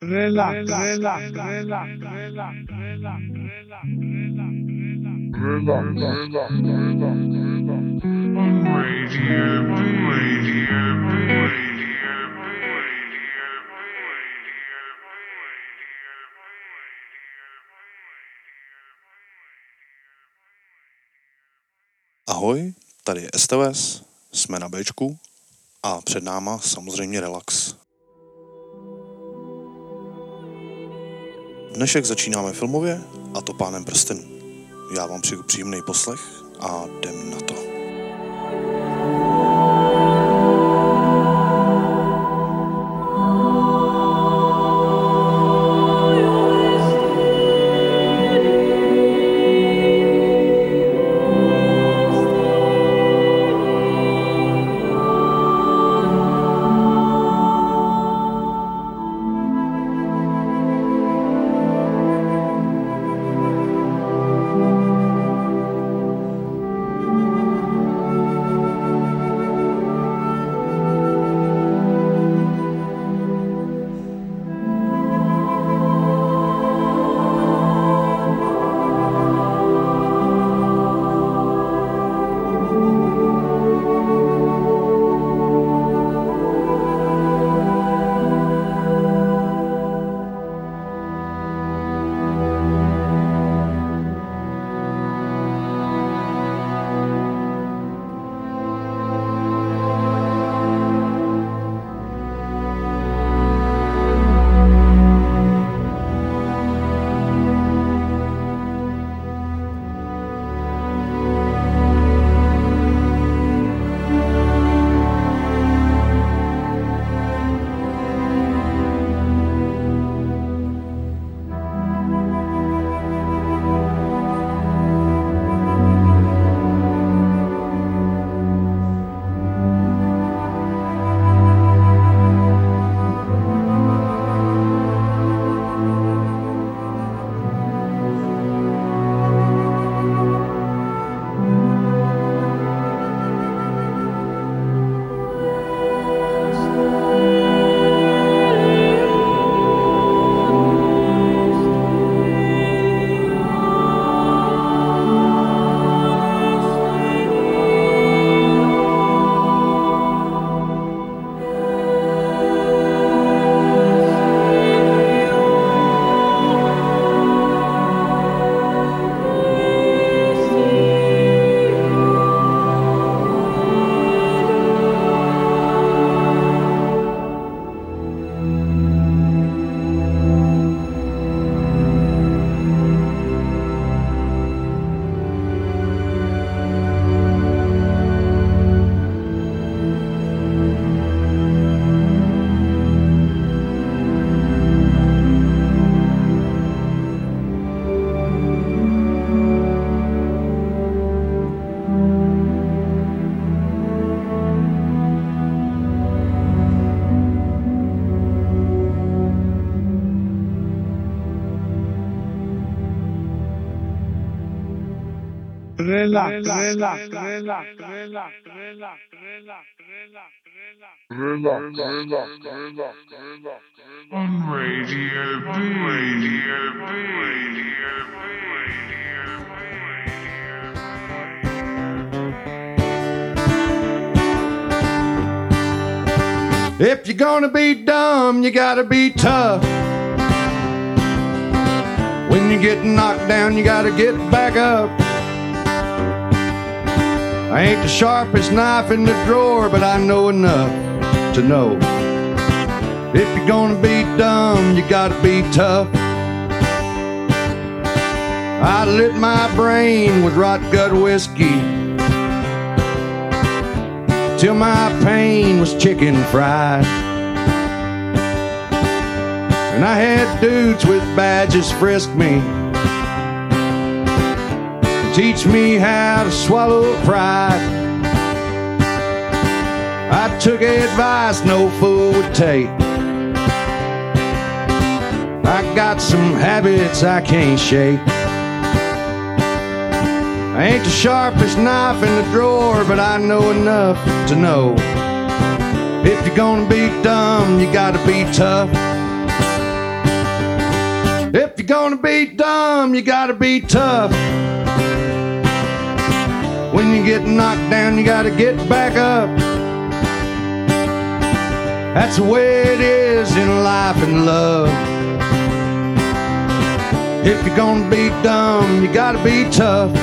Relax, relax, relax, relax, relax, relax, Radio B. Ahoj, tady je STVS, jsme na Bčku a před náma samozřejmě relax. Dnešek začínáme filmově, a to Pánem prstenů. Já vám přeju příjemný poslech a jdem na to. Relax, relax, relax, relax, relax, relax, on Radio B. If you're gonna be dumb, you gotta be tough. When you get knocked down, you gotta get back up. I ain't the sharpest knife in the drawer, but I know enough to know. If you're gonna be dumb, you gotta be tough. I lit my brain with rot gut whiskey till my pain was chicken fried. And I had dudes with badges frisk me, teach me how to swallow pride. I took advice no fool would take. I got some habits I can't shake. I ain't the sharpest knife in the drawer, but I know enough to know. If you're gonna be dumb, you gotta be tough. gonna be dumb, you gotta be tough. When you get knocked down, you gotta get back up. That's the way it is in life and love. If you're gonna be dumb, you gotta be tough.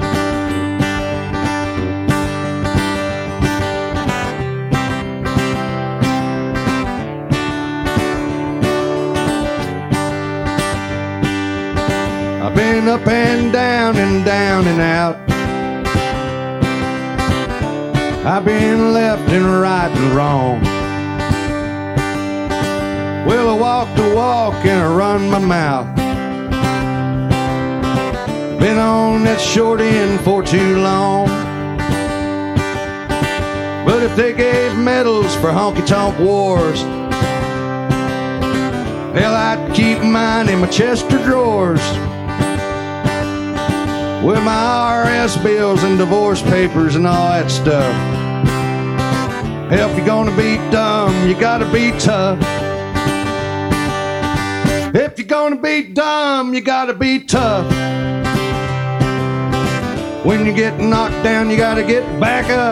I've been up and down and out. I've been left and right and wrong. Well, I walk the walk and I run my mouth. Been on that short end for too long. But if they gave medals for honky-tonk wars, hell, I'd keep mine in my chest of drawers with my IRS bills and divorce papers and all that stuff. Hell, if you're gonna be dumb, you gotta be tough. If you're gonna be dumb, you gotta be tough. When you get knocked down, you gotta get back up.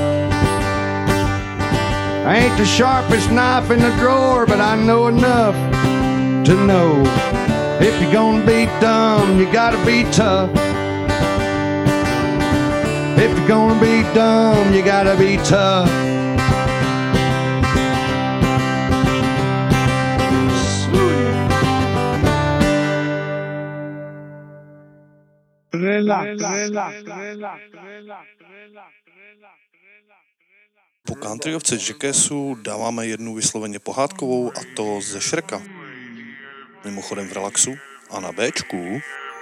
I ain't the sharpest knife in the drawer, but I know enough to know if you're gonna be dumb, you gotta be tough. If you're gonna be dumb, you gotta be tough. Po countryovce Jackassu dáváme jednu vysloveně pohádkovou, a to ze Shreka. Mimochodem v relaxu a na Bčku.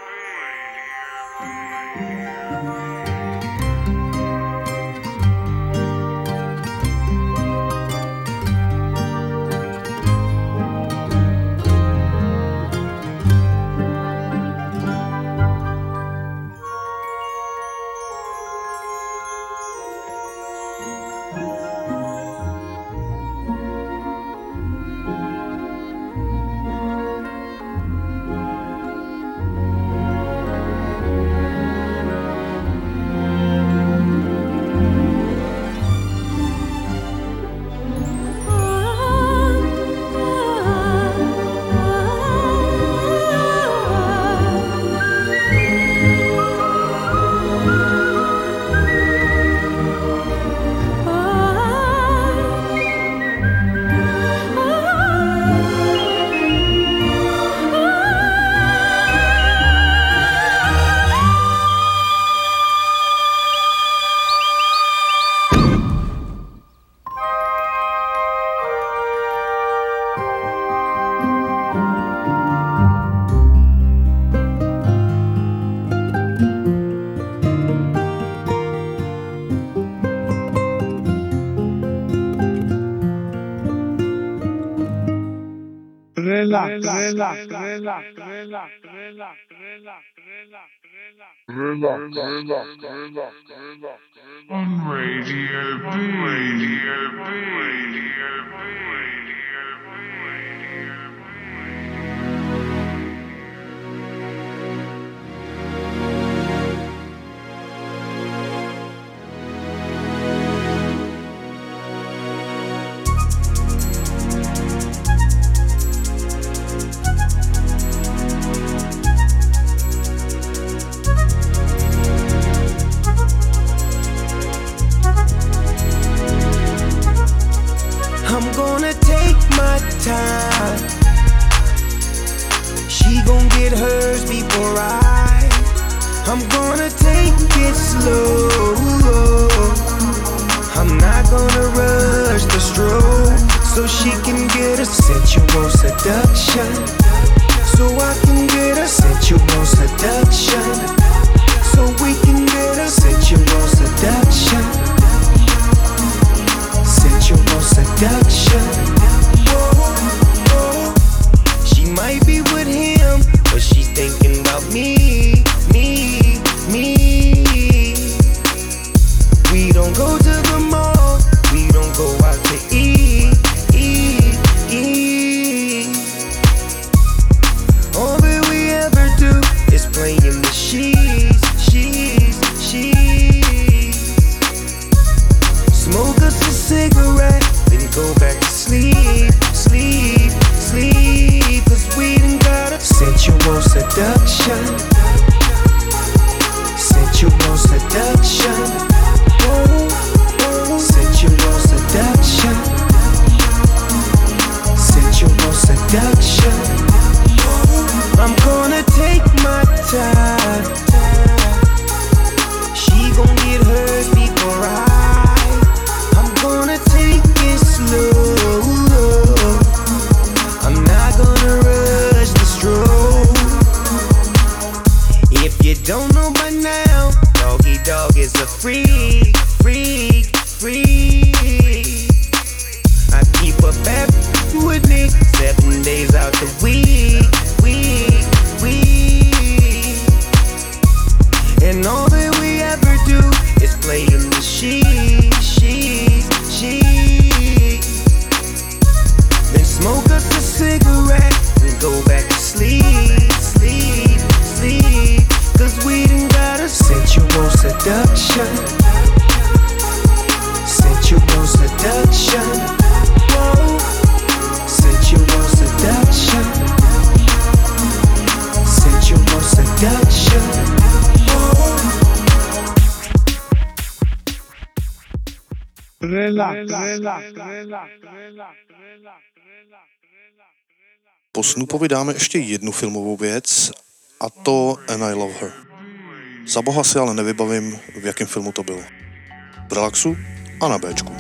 On Radio B. I'm gonna take my time. She gon' get hers before I'm gonna take it slow. I'm not gonna rush the stroke, so she can get a sensual seduction. So I can get a sensual seduction. So we can get a sensual seduction. Sensual seduction. Whoa, whoa. She might be with him, but she's thinking about me, me, me. We don't go to the mall, we don't go out to eat, eat, eat. Oh, but we seduction. I'm gonna take my time. She gon' get hers before I'm gonna take it slow. I'm not gonna rush the stroke. If you don't know by now, Doggy Dog is a freak, freak, freak. I keep a bad with me 7 days out the week. And all that we ever do is play in the she. Then smoke us a cigarette and go back to sleep. Cause we done got a sensual seduction. Sensual seduction. Whoa. Sensual seduction. Sensual seduction. Po Snoopovi dáme ještě jednu filmovou věc, a to And I Love Her. Za boha si ale nevybavím, v jakém filmu to bylo. V Relaxu a na Bčku.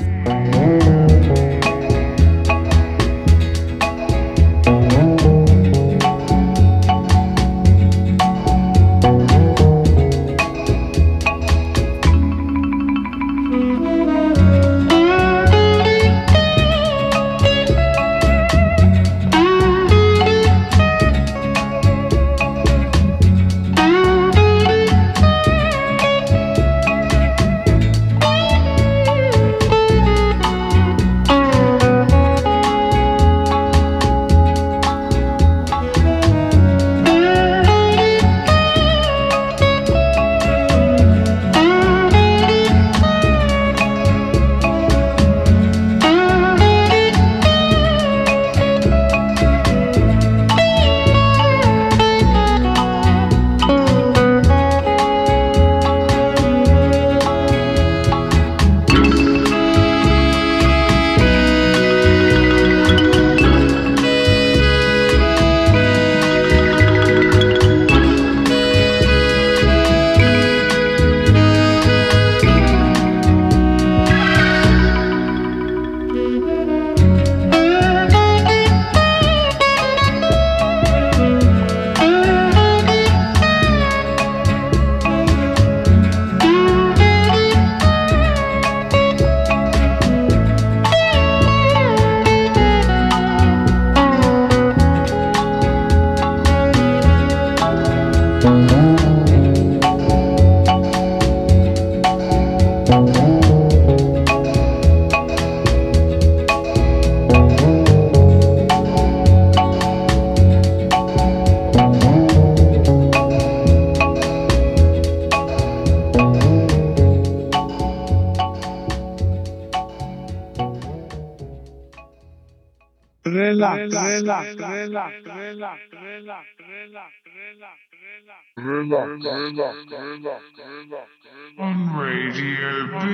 On Radio B.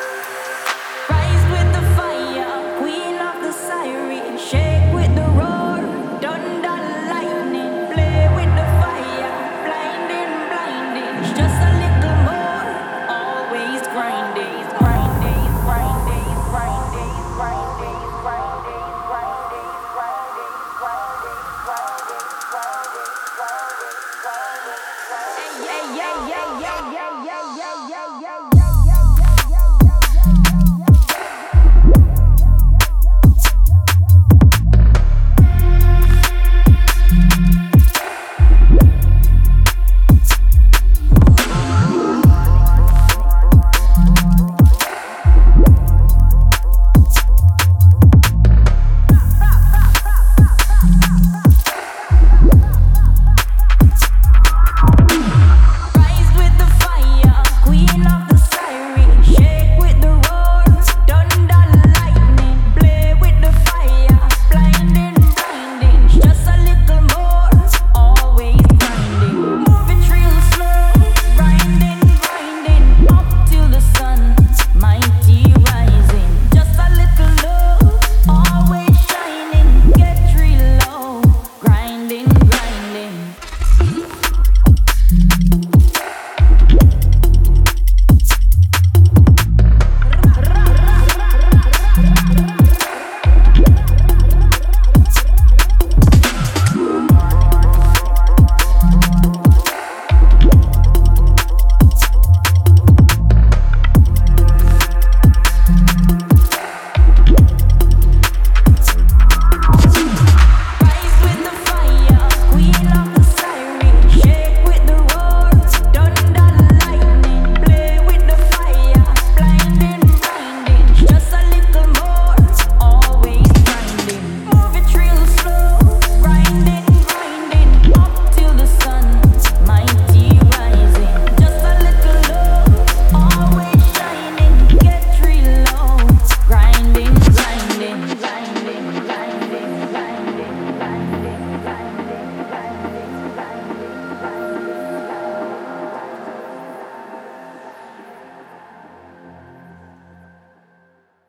Rise with the fire, queen of the siren, shake with the roar.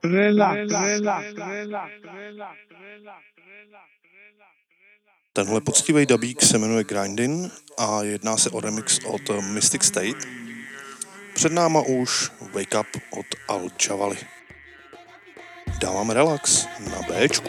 Tenhle poctivý dabík se jmenuje Grindin a jedná se o remix od Mystic State. Před náma už Wake Up od Al Jawali. Dáváme relax na Bčku.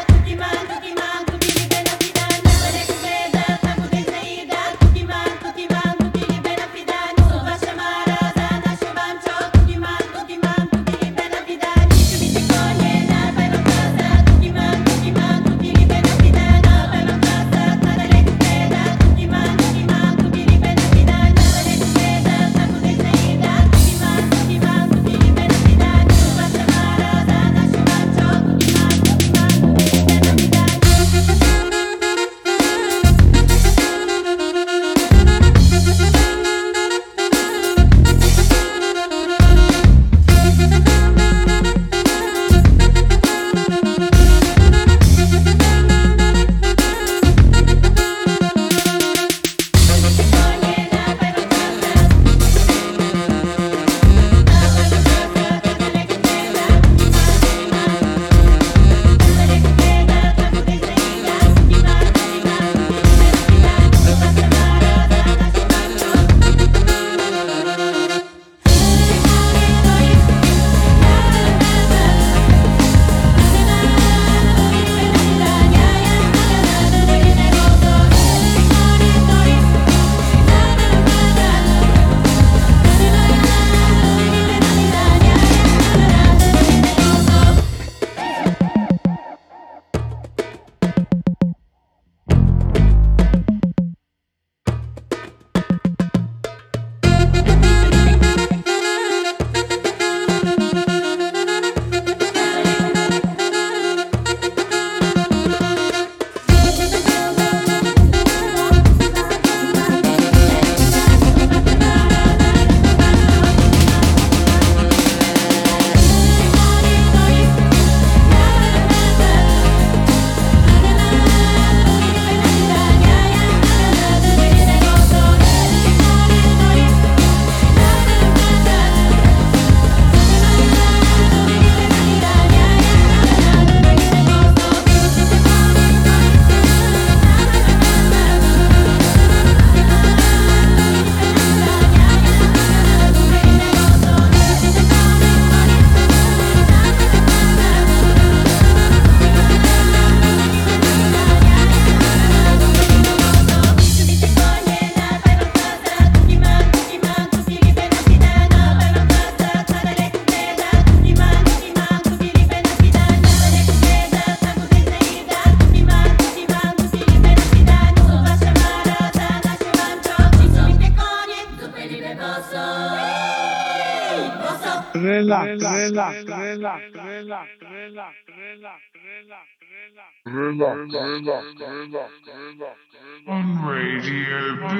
On Radio B.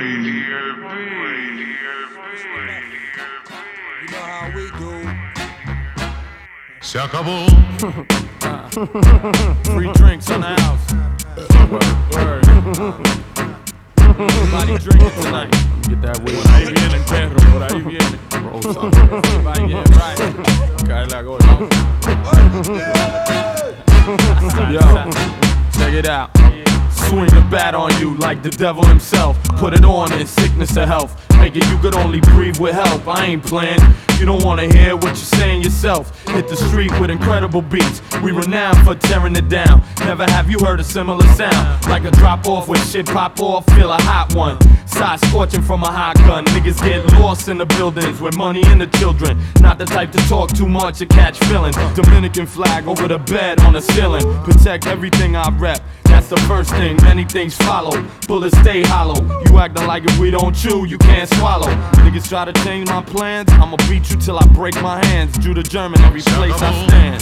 You know how we do. Se acabó. Free drinks in the house. Word. Everybody drinking tonight. Get that weed. Por ahí viene el perro, por ahí viene. Everybody getting right. Cae la gorda. Yo, check it out. Swing the bat on you like the devil himself. Put it on in sickness or health. Make it you could only breathe with help. I ain't playing. You don't wanna hear what you're saying yourself. Hit the street with incredible beats. We renowned for tearing it down. Never have you heard a similar sound. Like a drop off when shit pop off. Feel a hot one. Side scorching from a hot gun. Niggas get lost in the buildings with money and the children. Not the type to talk too much or catch feelings. Dominican flag over the bed on the ceiling. Protect everything I rep. That's the first thing, many things follow. Bullets stay hollow. You acting like if we don't chew, you can't swallow. Niggas try to change my plans, I'ma beat you till I break my hands. Jew to German, every place I stand.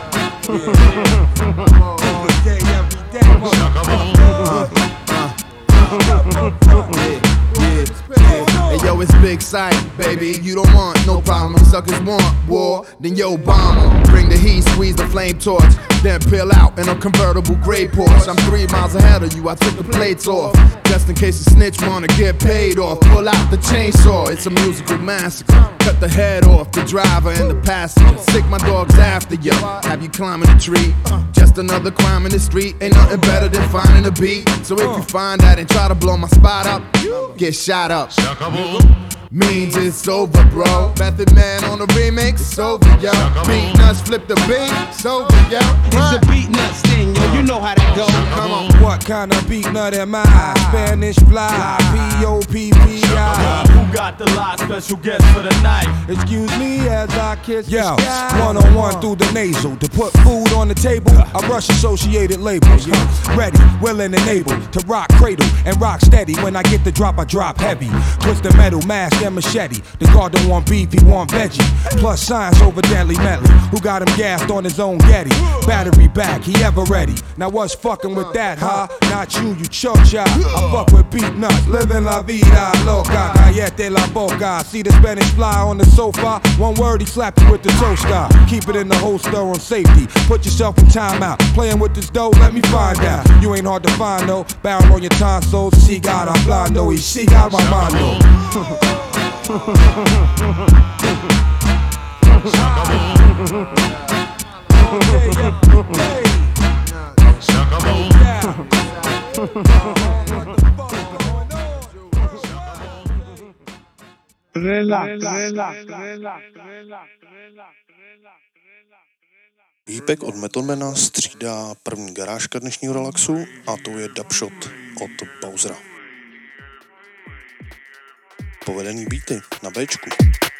Hey yo, it's Big Sight, baby. You don't want no problem. If suckers want war, then yo, bomb 'em. Bring the heat, squeeze the flame torch, then peel out in a convertible gray Porsche. I'm 3 miles ahead of you, I took the plates off. just in case the snitch wanna get paid off. Pull out the chainsaw, it's a musical massacre. Cut the head off the driver and the passenger. Sick my dogs after you. Have you climbing a tree? Just another crime in the street. Ain't nothing better than finding a beat. So if you find that and try to blow my spot up, get shot up. Means it's over, bro. Method Man on the remix, it's over, yo. Beat nuts, flip the beat, it's over, yo. It's a beat nuts thing, yo. You know how that go. Come on. What kind of beat nut am I? Spanish fly, P-O-P-P-I. Who got the live special guest for the night? Excuse me as I kiss the sky. One-on-one through the nasal. To put food on the table, I rush associated labels. Ready, willing and able to rock cradle and rock steady. When I get the drop, I drop heavy. Twist the metal, mask and machete. The guard don't want beef, he want veggie. Plus science over deadly medley. Who got him gassed on his own Getty? Battery back, he ever ready. Now what's fucking with that, huh? Not you, you chocha. I fuck with beat nuts. Living la vida loca. Cállate la boca. See the Spanish fly on the sofa. One word, he slapped you with the toaster. Keep it in the holster on safety. Put yourself in timeout. Playing with this dough, let me find out. You ain't hard to find, though. Bound on your tonsils. See God, I'm blind, though. He see God, my mind, though. Výpek od Metalmana střídá první garážka dnešního relaxu a to je Dubshot od Bowsera. Povedený beaty na Bčku.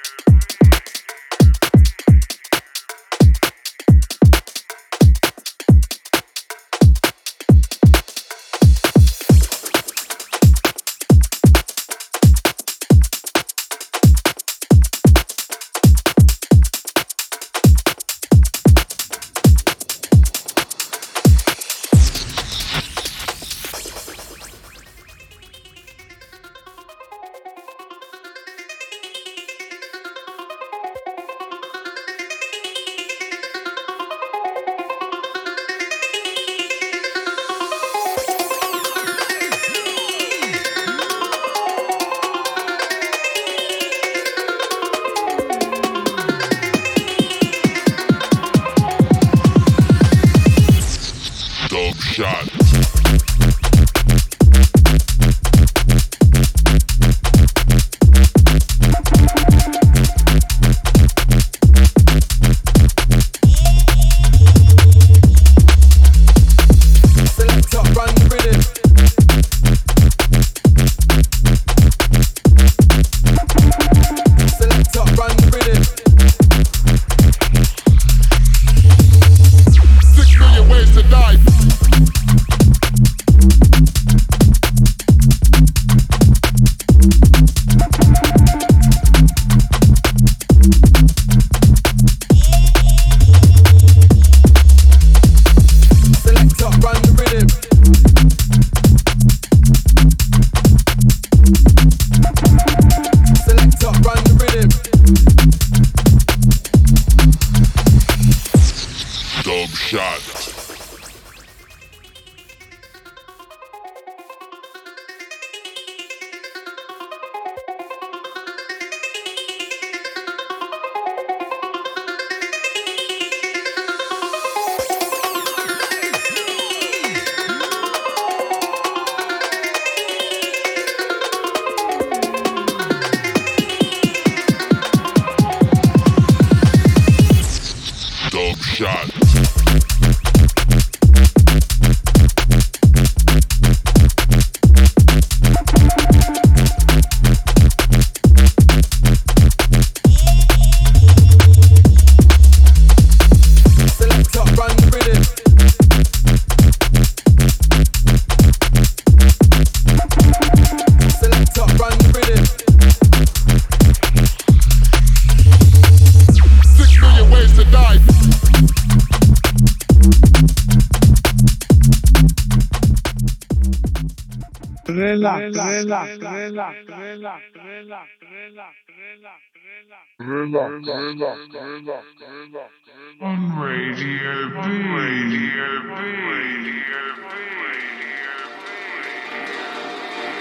On Radio B. Radio B.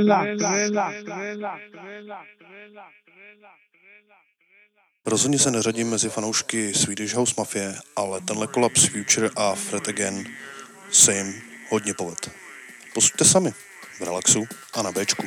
Rozhodně se neřadím mezi fanoušky Swedish House Mafie, ale tenhle kolaps Future a Fred Again se jim hodně poved. Posuďte sami, v relaxu a na Bčku.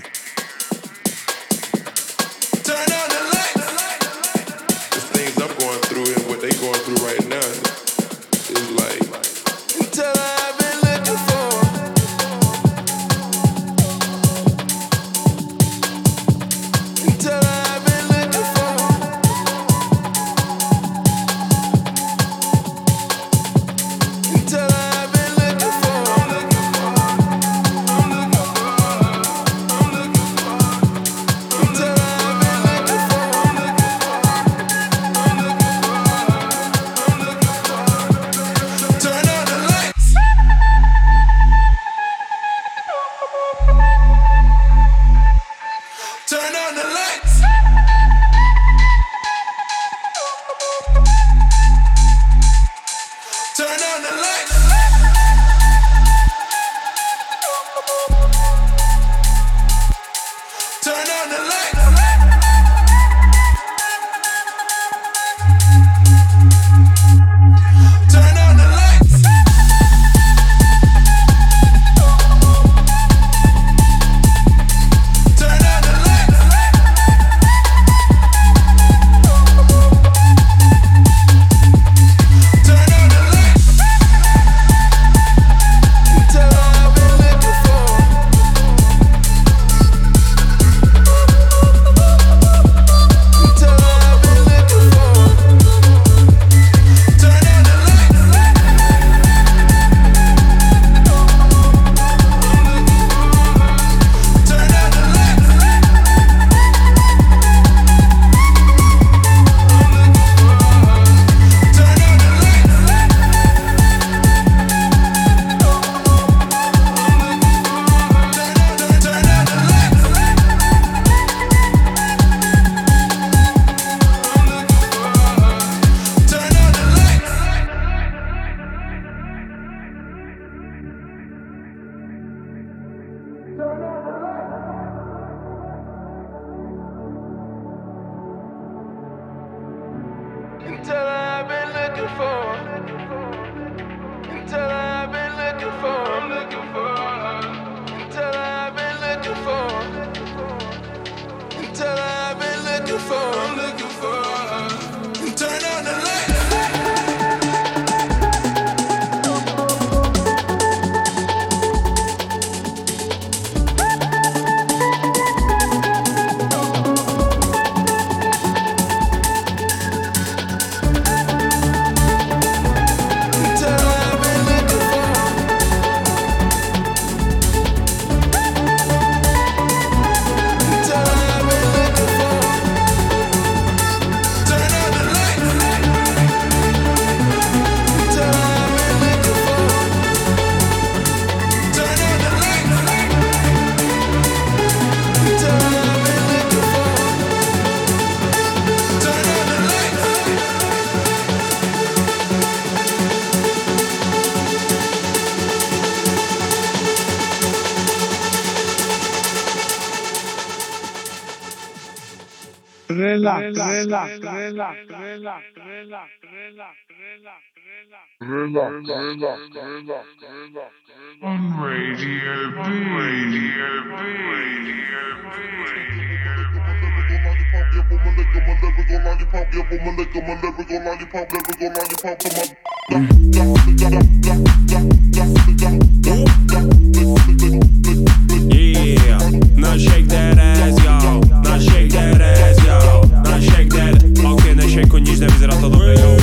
Now shake that ass, y'all. Now shake that ass, y'all. Now shake that. Ok, nešejko, nič nevyzerá to dobre, yo.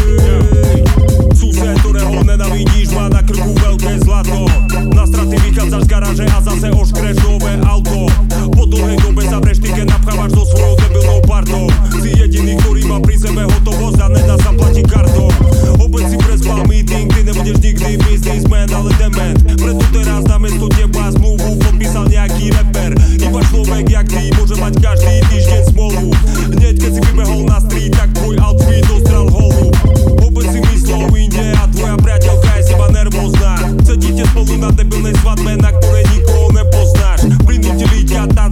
Sused, ktorého nenavidíš, má na krku veľké zlato. Na straty vychádzaš z garáže a zase oškreš nové auto. Po dlhej dobe zavreš tiket, napchávaš so svojou debilnou partou. Si jediný, ktorý má pri sebe hotovosť a nedá sa platiť kartou. Opäť si prespal meeting, ty nebudeš nikdy businessman, ale dement. Preto teraz namiesto teba zmluvu podpísal nejaký rapper. Iba človek jak ty môže mať každý týždeň smolu. Hneď keď si vybehol na street, tak tvoj outfit dostrel holu. Opäť si myslel inde a tvoja priateľka je seba nervózna. Sedíte spolu na debilnej svadbe, na ktorej nikoho nepoznáš. Prinútili ťa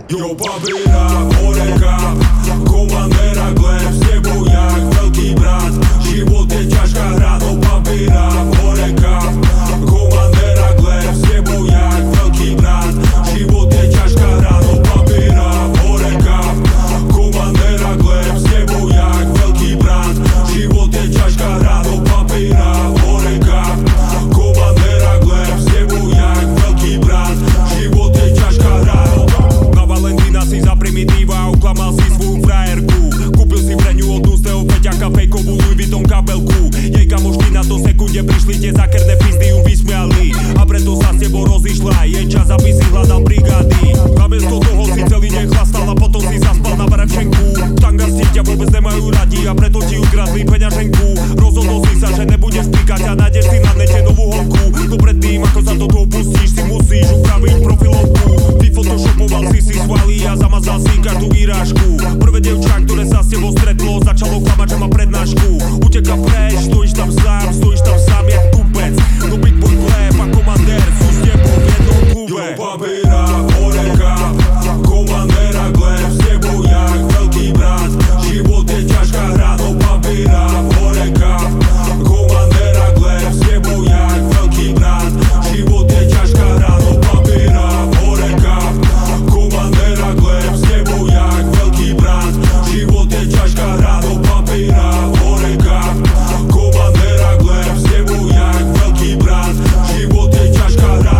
Jo, papíra, horeka, komandéra, gleb, s tebou jak veľký brat. Život je ťažká hra, no papíra, horeka, komandéra, gleb, s tebou jak veľký brat. Život je ťažká hra, no papíra, horeka, komandéra, gleb, s tebou jak veľký brat. Život je ťažká hra, no papíra, horeka, komandéra, gleb, s tebou jak veľký brat. Život je ťažká hra, na Valentína si za primitíva oklamal si svoju frajerku. Kúpil si pre ňu od ústeho Peťaka fejkovú Louis Vuitton kabelku. Jej kamošky na to sekunde prišli, tie zakerné pizdy ju vysmiali a preto sa s tebou rozišla. Je čas, aby si hľadal brigády. Namiesto toho si celý deň chlastal a potom si zaspal na Varevčenku. Tangarsti ťa vôbec nemajú radi a preto ti ukradli peňaženku. Rozhodol si sa, že nebudeš píkať a nájdeš si na nete novú holku. No predtým, ako sa do toho pustíš, si musíš upraviť profilovku. Vyfotoshopoval si svaly a zamazal si každú výrážku. Prvé dievča, ktoré sa s tebou stretlo, začalo klamať, že má prednášku. Uteka preč, stojíš tam sám jak tupec. No byť tvoj chléb a komandér sú s tebou v jednom klube. Jo, papíra, horeka, komandéra, gleb, s tebou jak veľký brat. Život je ťažká hra, no papíra, horeka, komandéra, gleb, s tebou jak veľký brat. Život je ťažká hra, no papíra, horeka, komandéra, gleb, s tebou jak veľký brat. Život je ťažká hra, no papíra, horeka, komandéra, gleb, s tebou jak veľký brat. Život je ťažká hra.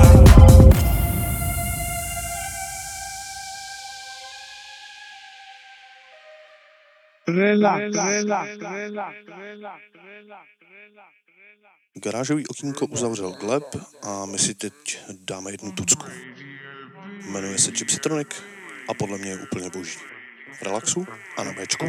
Garážový okýnko uzavřel Gleb a my si teď dáme jednu tucku. Jmenuje se Gypsytronic a podle mě je úplně boží. V relaxu a na Bčku.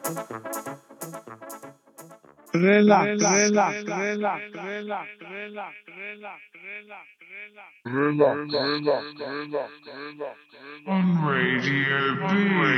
On Radio B.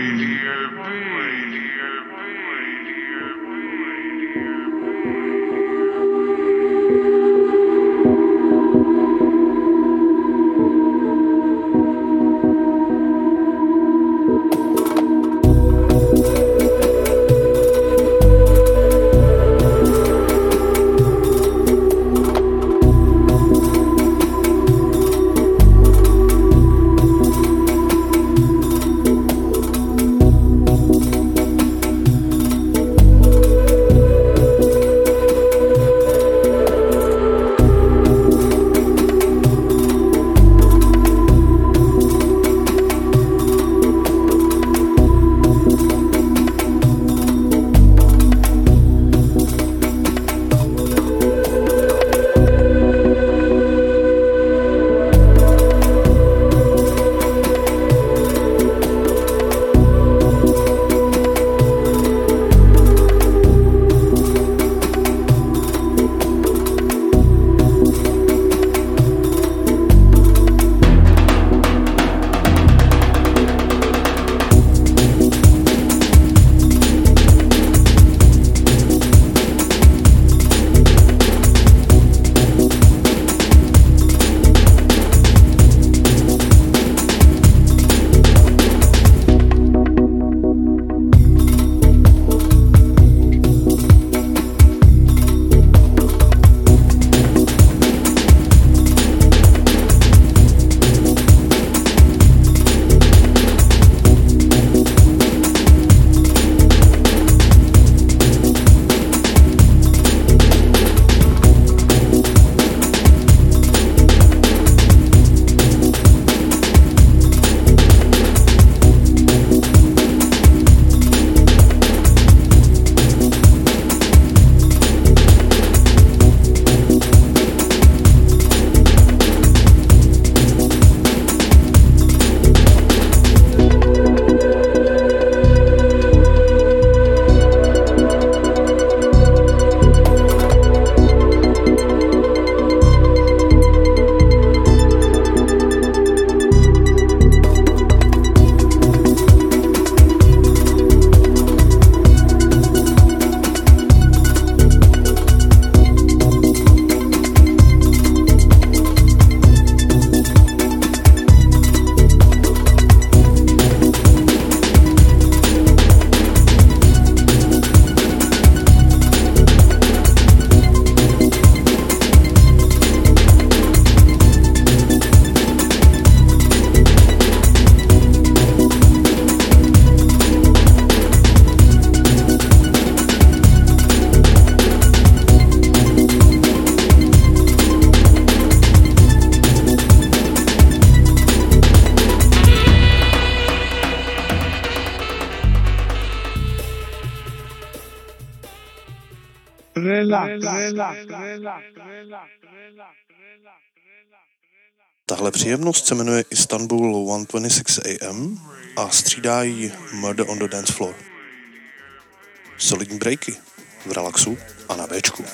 Tahle příjemnost se jmenuje Istanbul 126 AM a střídá jí Murder on the Dance Floor. Solidní breaky v relaxu a na Bčku.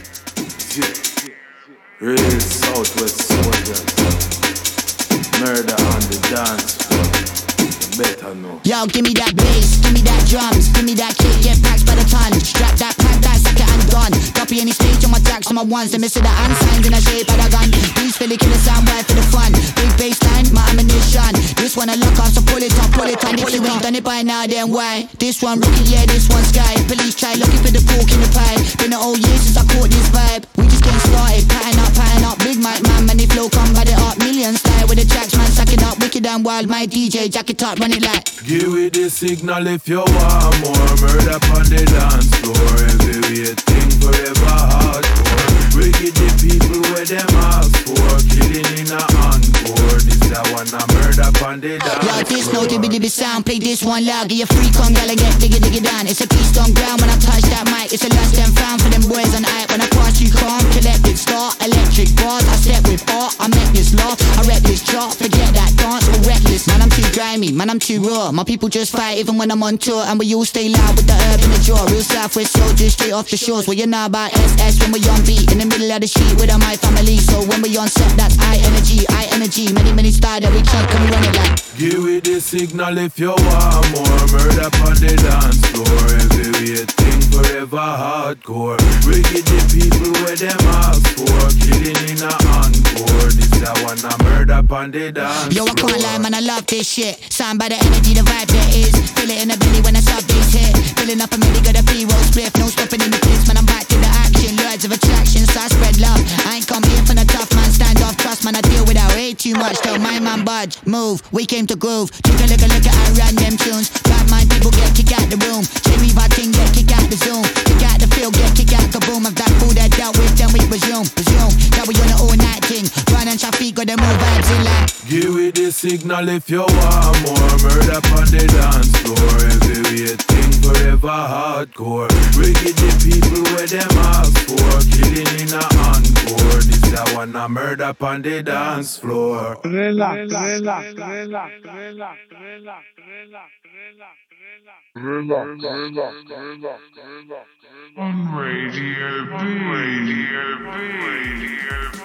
Real Southwest soldier. Murder on the dance floor. You better know. Yo, give me that bass, give me that drums, give me that kick, get packed by the ton. Strap that pack, that sucker and done. Copy any stage on my tracks on my ones. They miss the hand signs in the shape of the gun. These Philly killer sound right for the fun. Big bass line, my ammunition. This one I lock off, so pull it up, pull it on. If you ain't done it by now, then why? This one rookie, yeah, this one sky. Police try looking for the pork in the pie. Been an old year since I caught this vibe. We just getting started, pattern up. Big mic man, man, they flow come by the art. Million style with the tracks, man, suck it up. Wicked and wild, my DJ, jack it up, run it like. Give it the signal if you want more. Murder on the dance floor. Everything forever hardcore. Wicked the people where them ask for. Killing in a encore. This a one a murder on the dance floor. Yo, this no dibby sound. Play this one loud. Get your freak on, gala get diggy down. It's a beast on ground when I touch that mic. It's a lost and found for them boys on hype. When I pass you calm, collected start. Electric bars, I step with art. I make this law, I rep this chart. Forget that dance, we're reckless. Man, I'm too grimy, man, I'm too raw. My people just fight even when I'm on tour. And we all stay loud with the herb in the jaw. Real Southwest soldiers straight off the shores. Well, you know about SS when we on beat. In the middle of the street with my family. So when we on set, that's high energy. Many style that we chunk and we run it like. Give me the signal if you want more. Murder on the dance floor. Heavyweight thing forever hardcore. We get the people where them ask for. Killing in a encore. This that one a murder on the dance floor. Yo, I can't lie, man, I love this shit. Signed by the energy, the vibe there is. Feel it in the belly when I sub bass hit. Filling up a milli, got a pre-roll spliff. No stopping in the place, man, I'm back to the action. Words of attraction, so I spread love. I ain't come here for the tough man, stand off, trust man, I deal without way too much. Tell my man budge, move, we came to groove. Take a look at I ran them tunes. Bad mind people get kicked out the room. Jamie Varting get kicked out the Zoom. Kick out the field, get kicked out kaboom. Of that fool that dealt with, then we resume. That we on the all night thing. Run and traffic, got them all vibes in like. Give me the signal if you want more. Murder on the dance floor. Heavyweight thing forever hardcore. We get the people where them ask for. Killing in a encore. This that one a murder on the dance floor. Relax. On Radio B.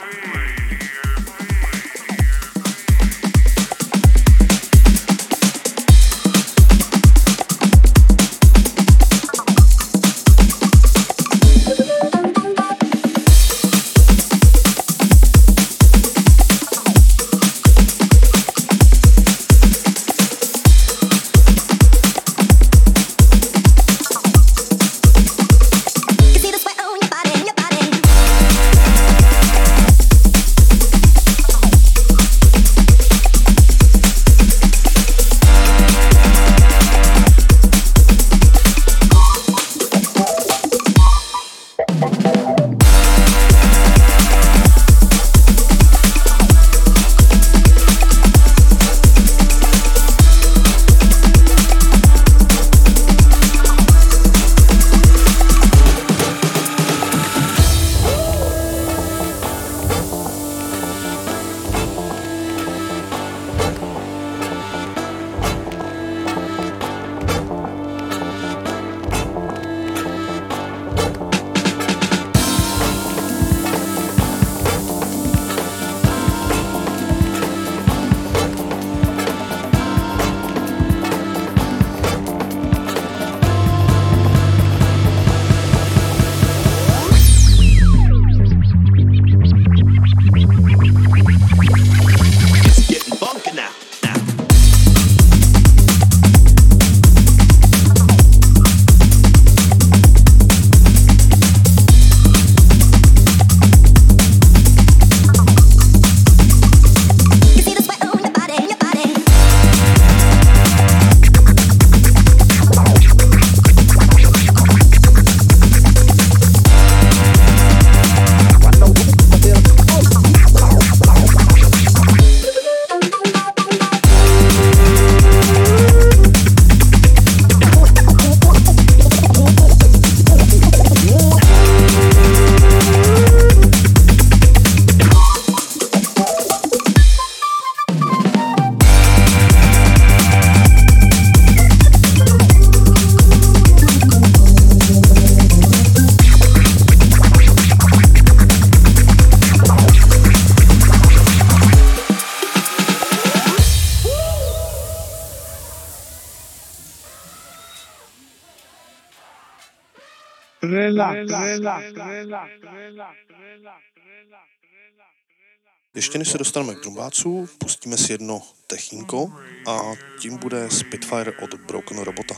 Ještě než se dostaneme k drumbáců, pustíme si jedno techínko a tím bude Spitfire od Broken Robota.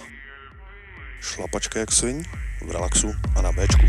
Šlapačka jak sviň, v relaxu a na Bčku.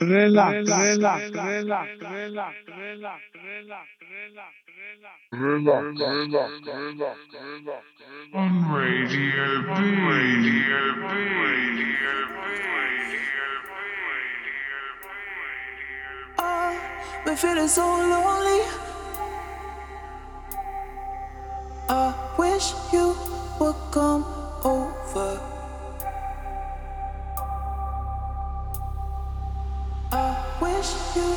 Been feeling so lonely. I wish you would come over. I wish you.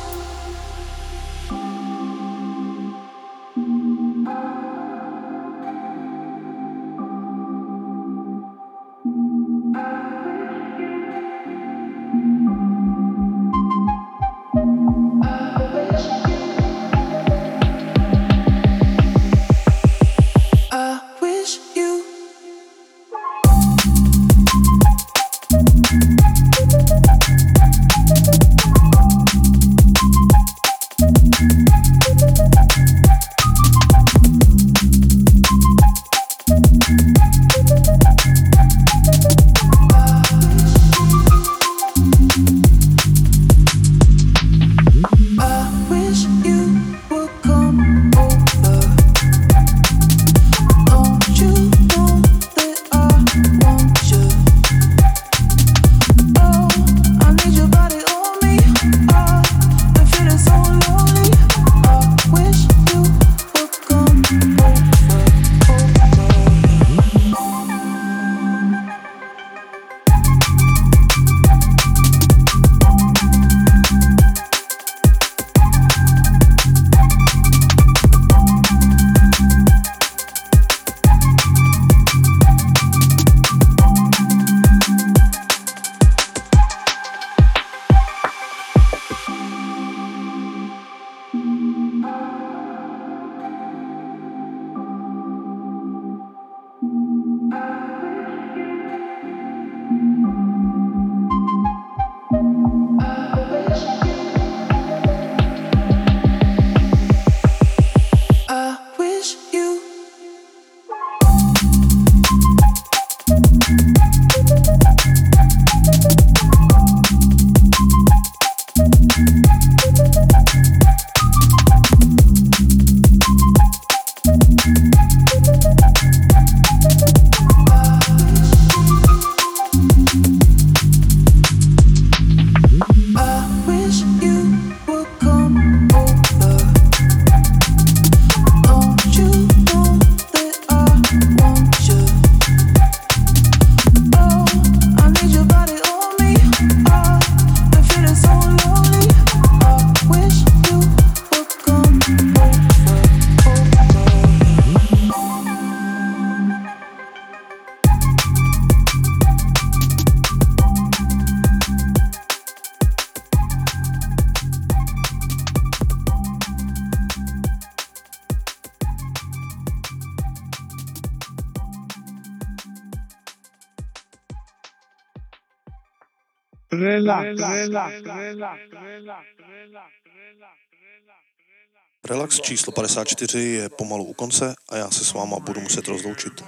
Relax číslo 54 je pomalu u konce a já se s váma budu muset rozloučit.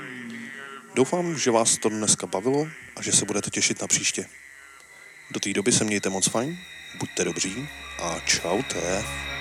Doufám, že vás to dneska bavilo a že se budete těšit na příště. Do té doby se mějte moc fajn, buďte dobří a čaute.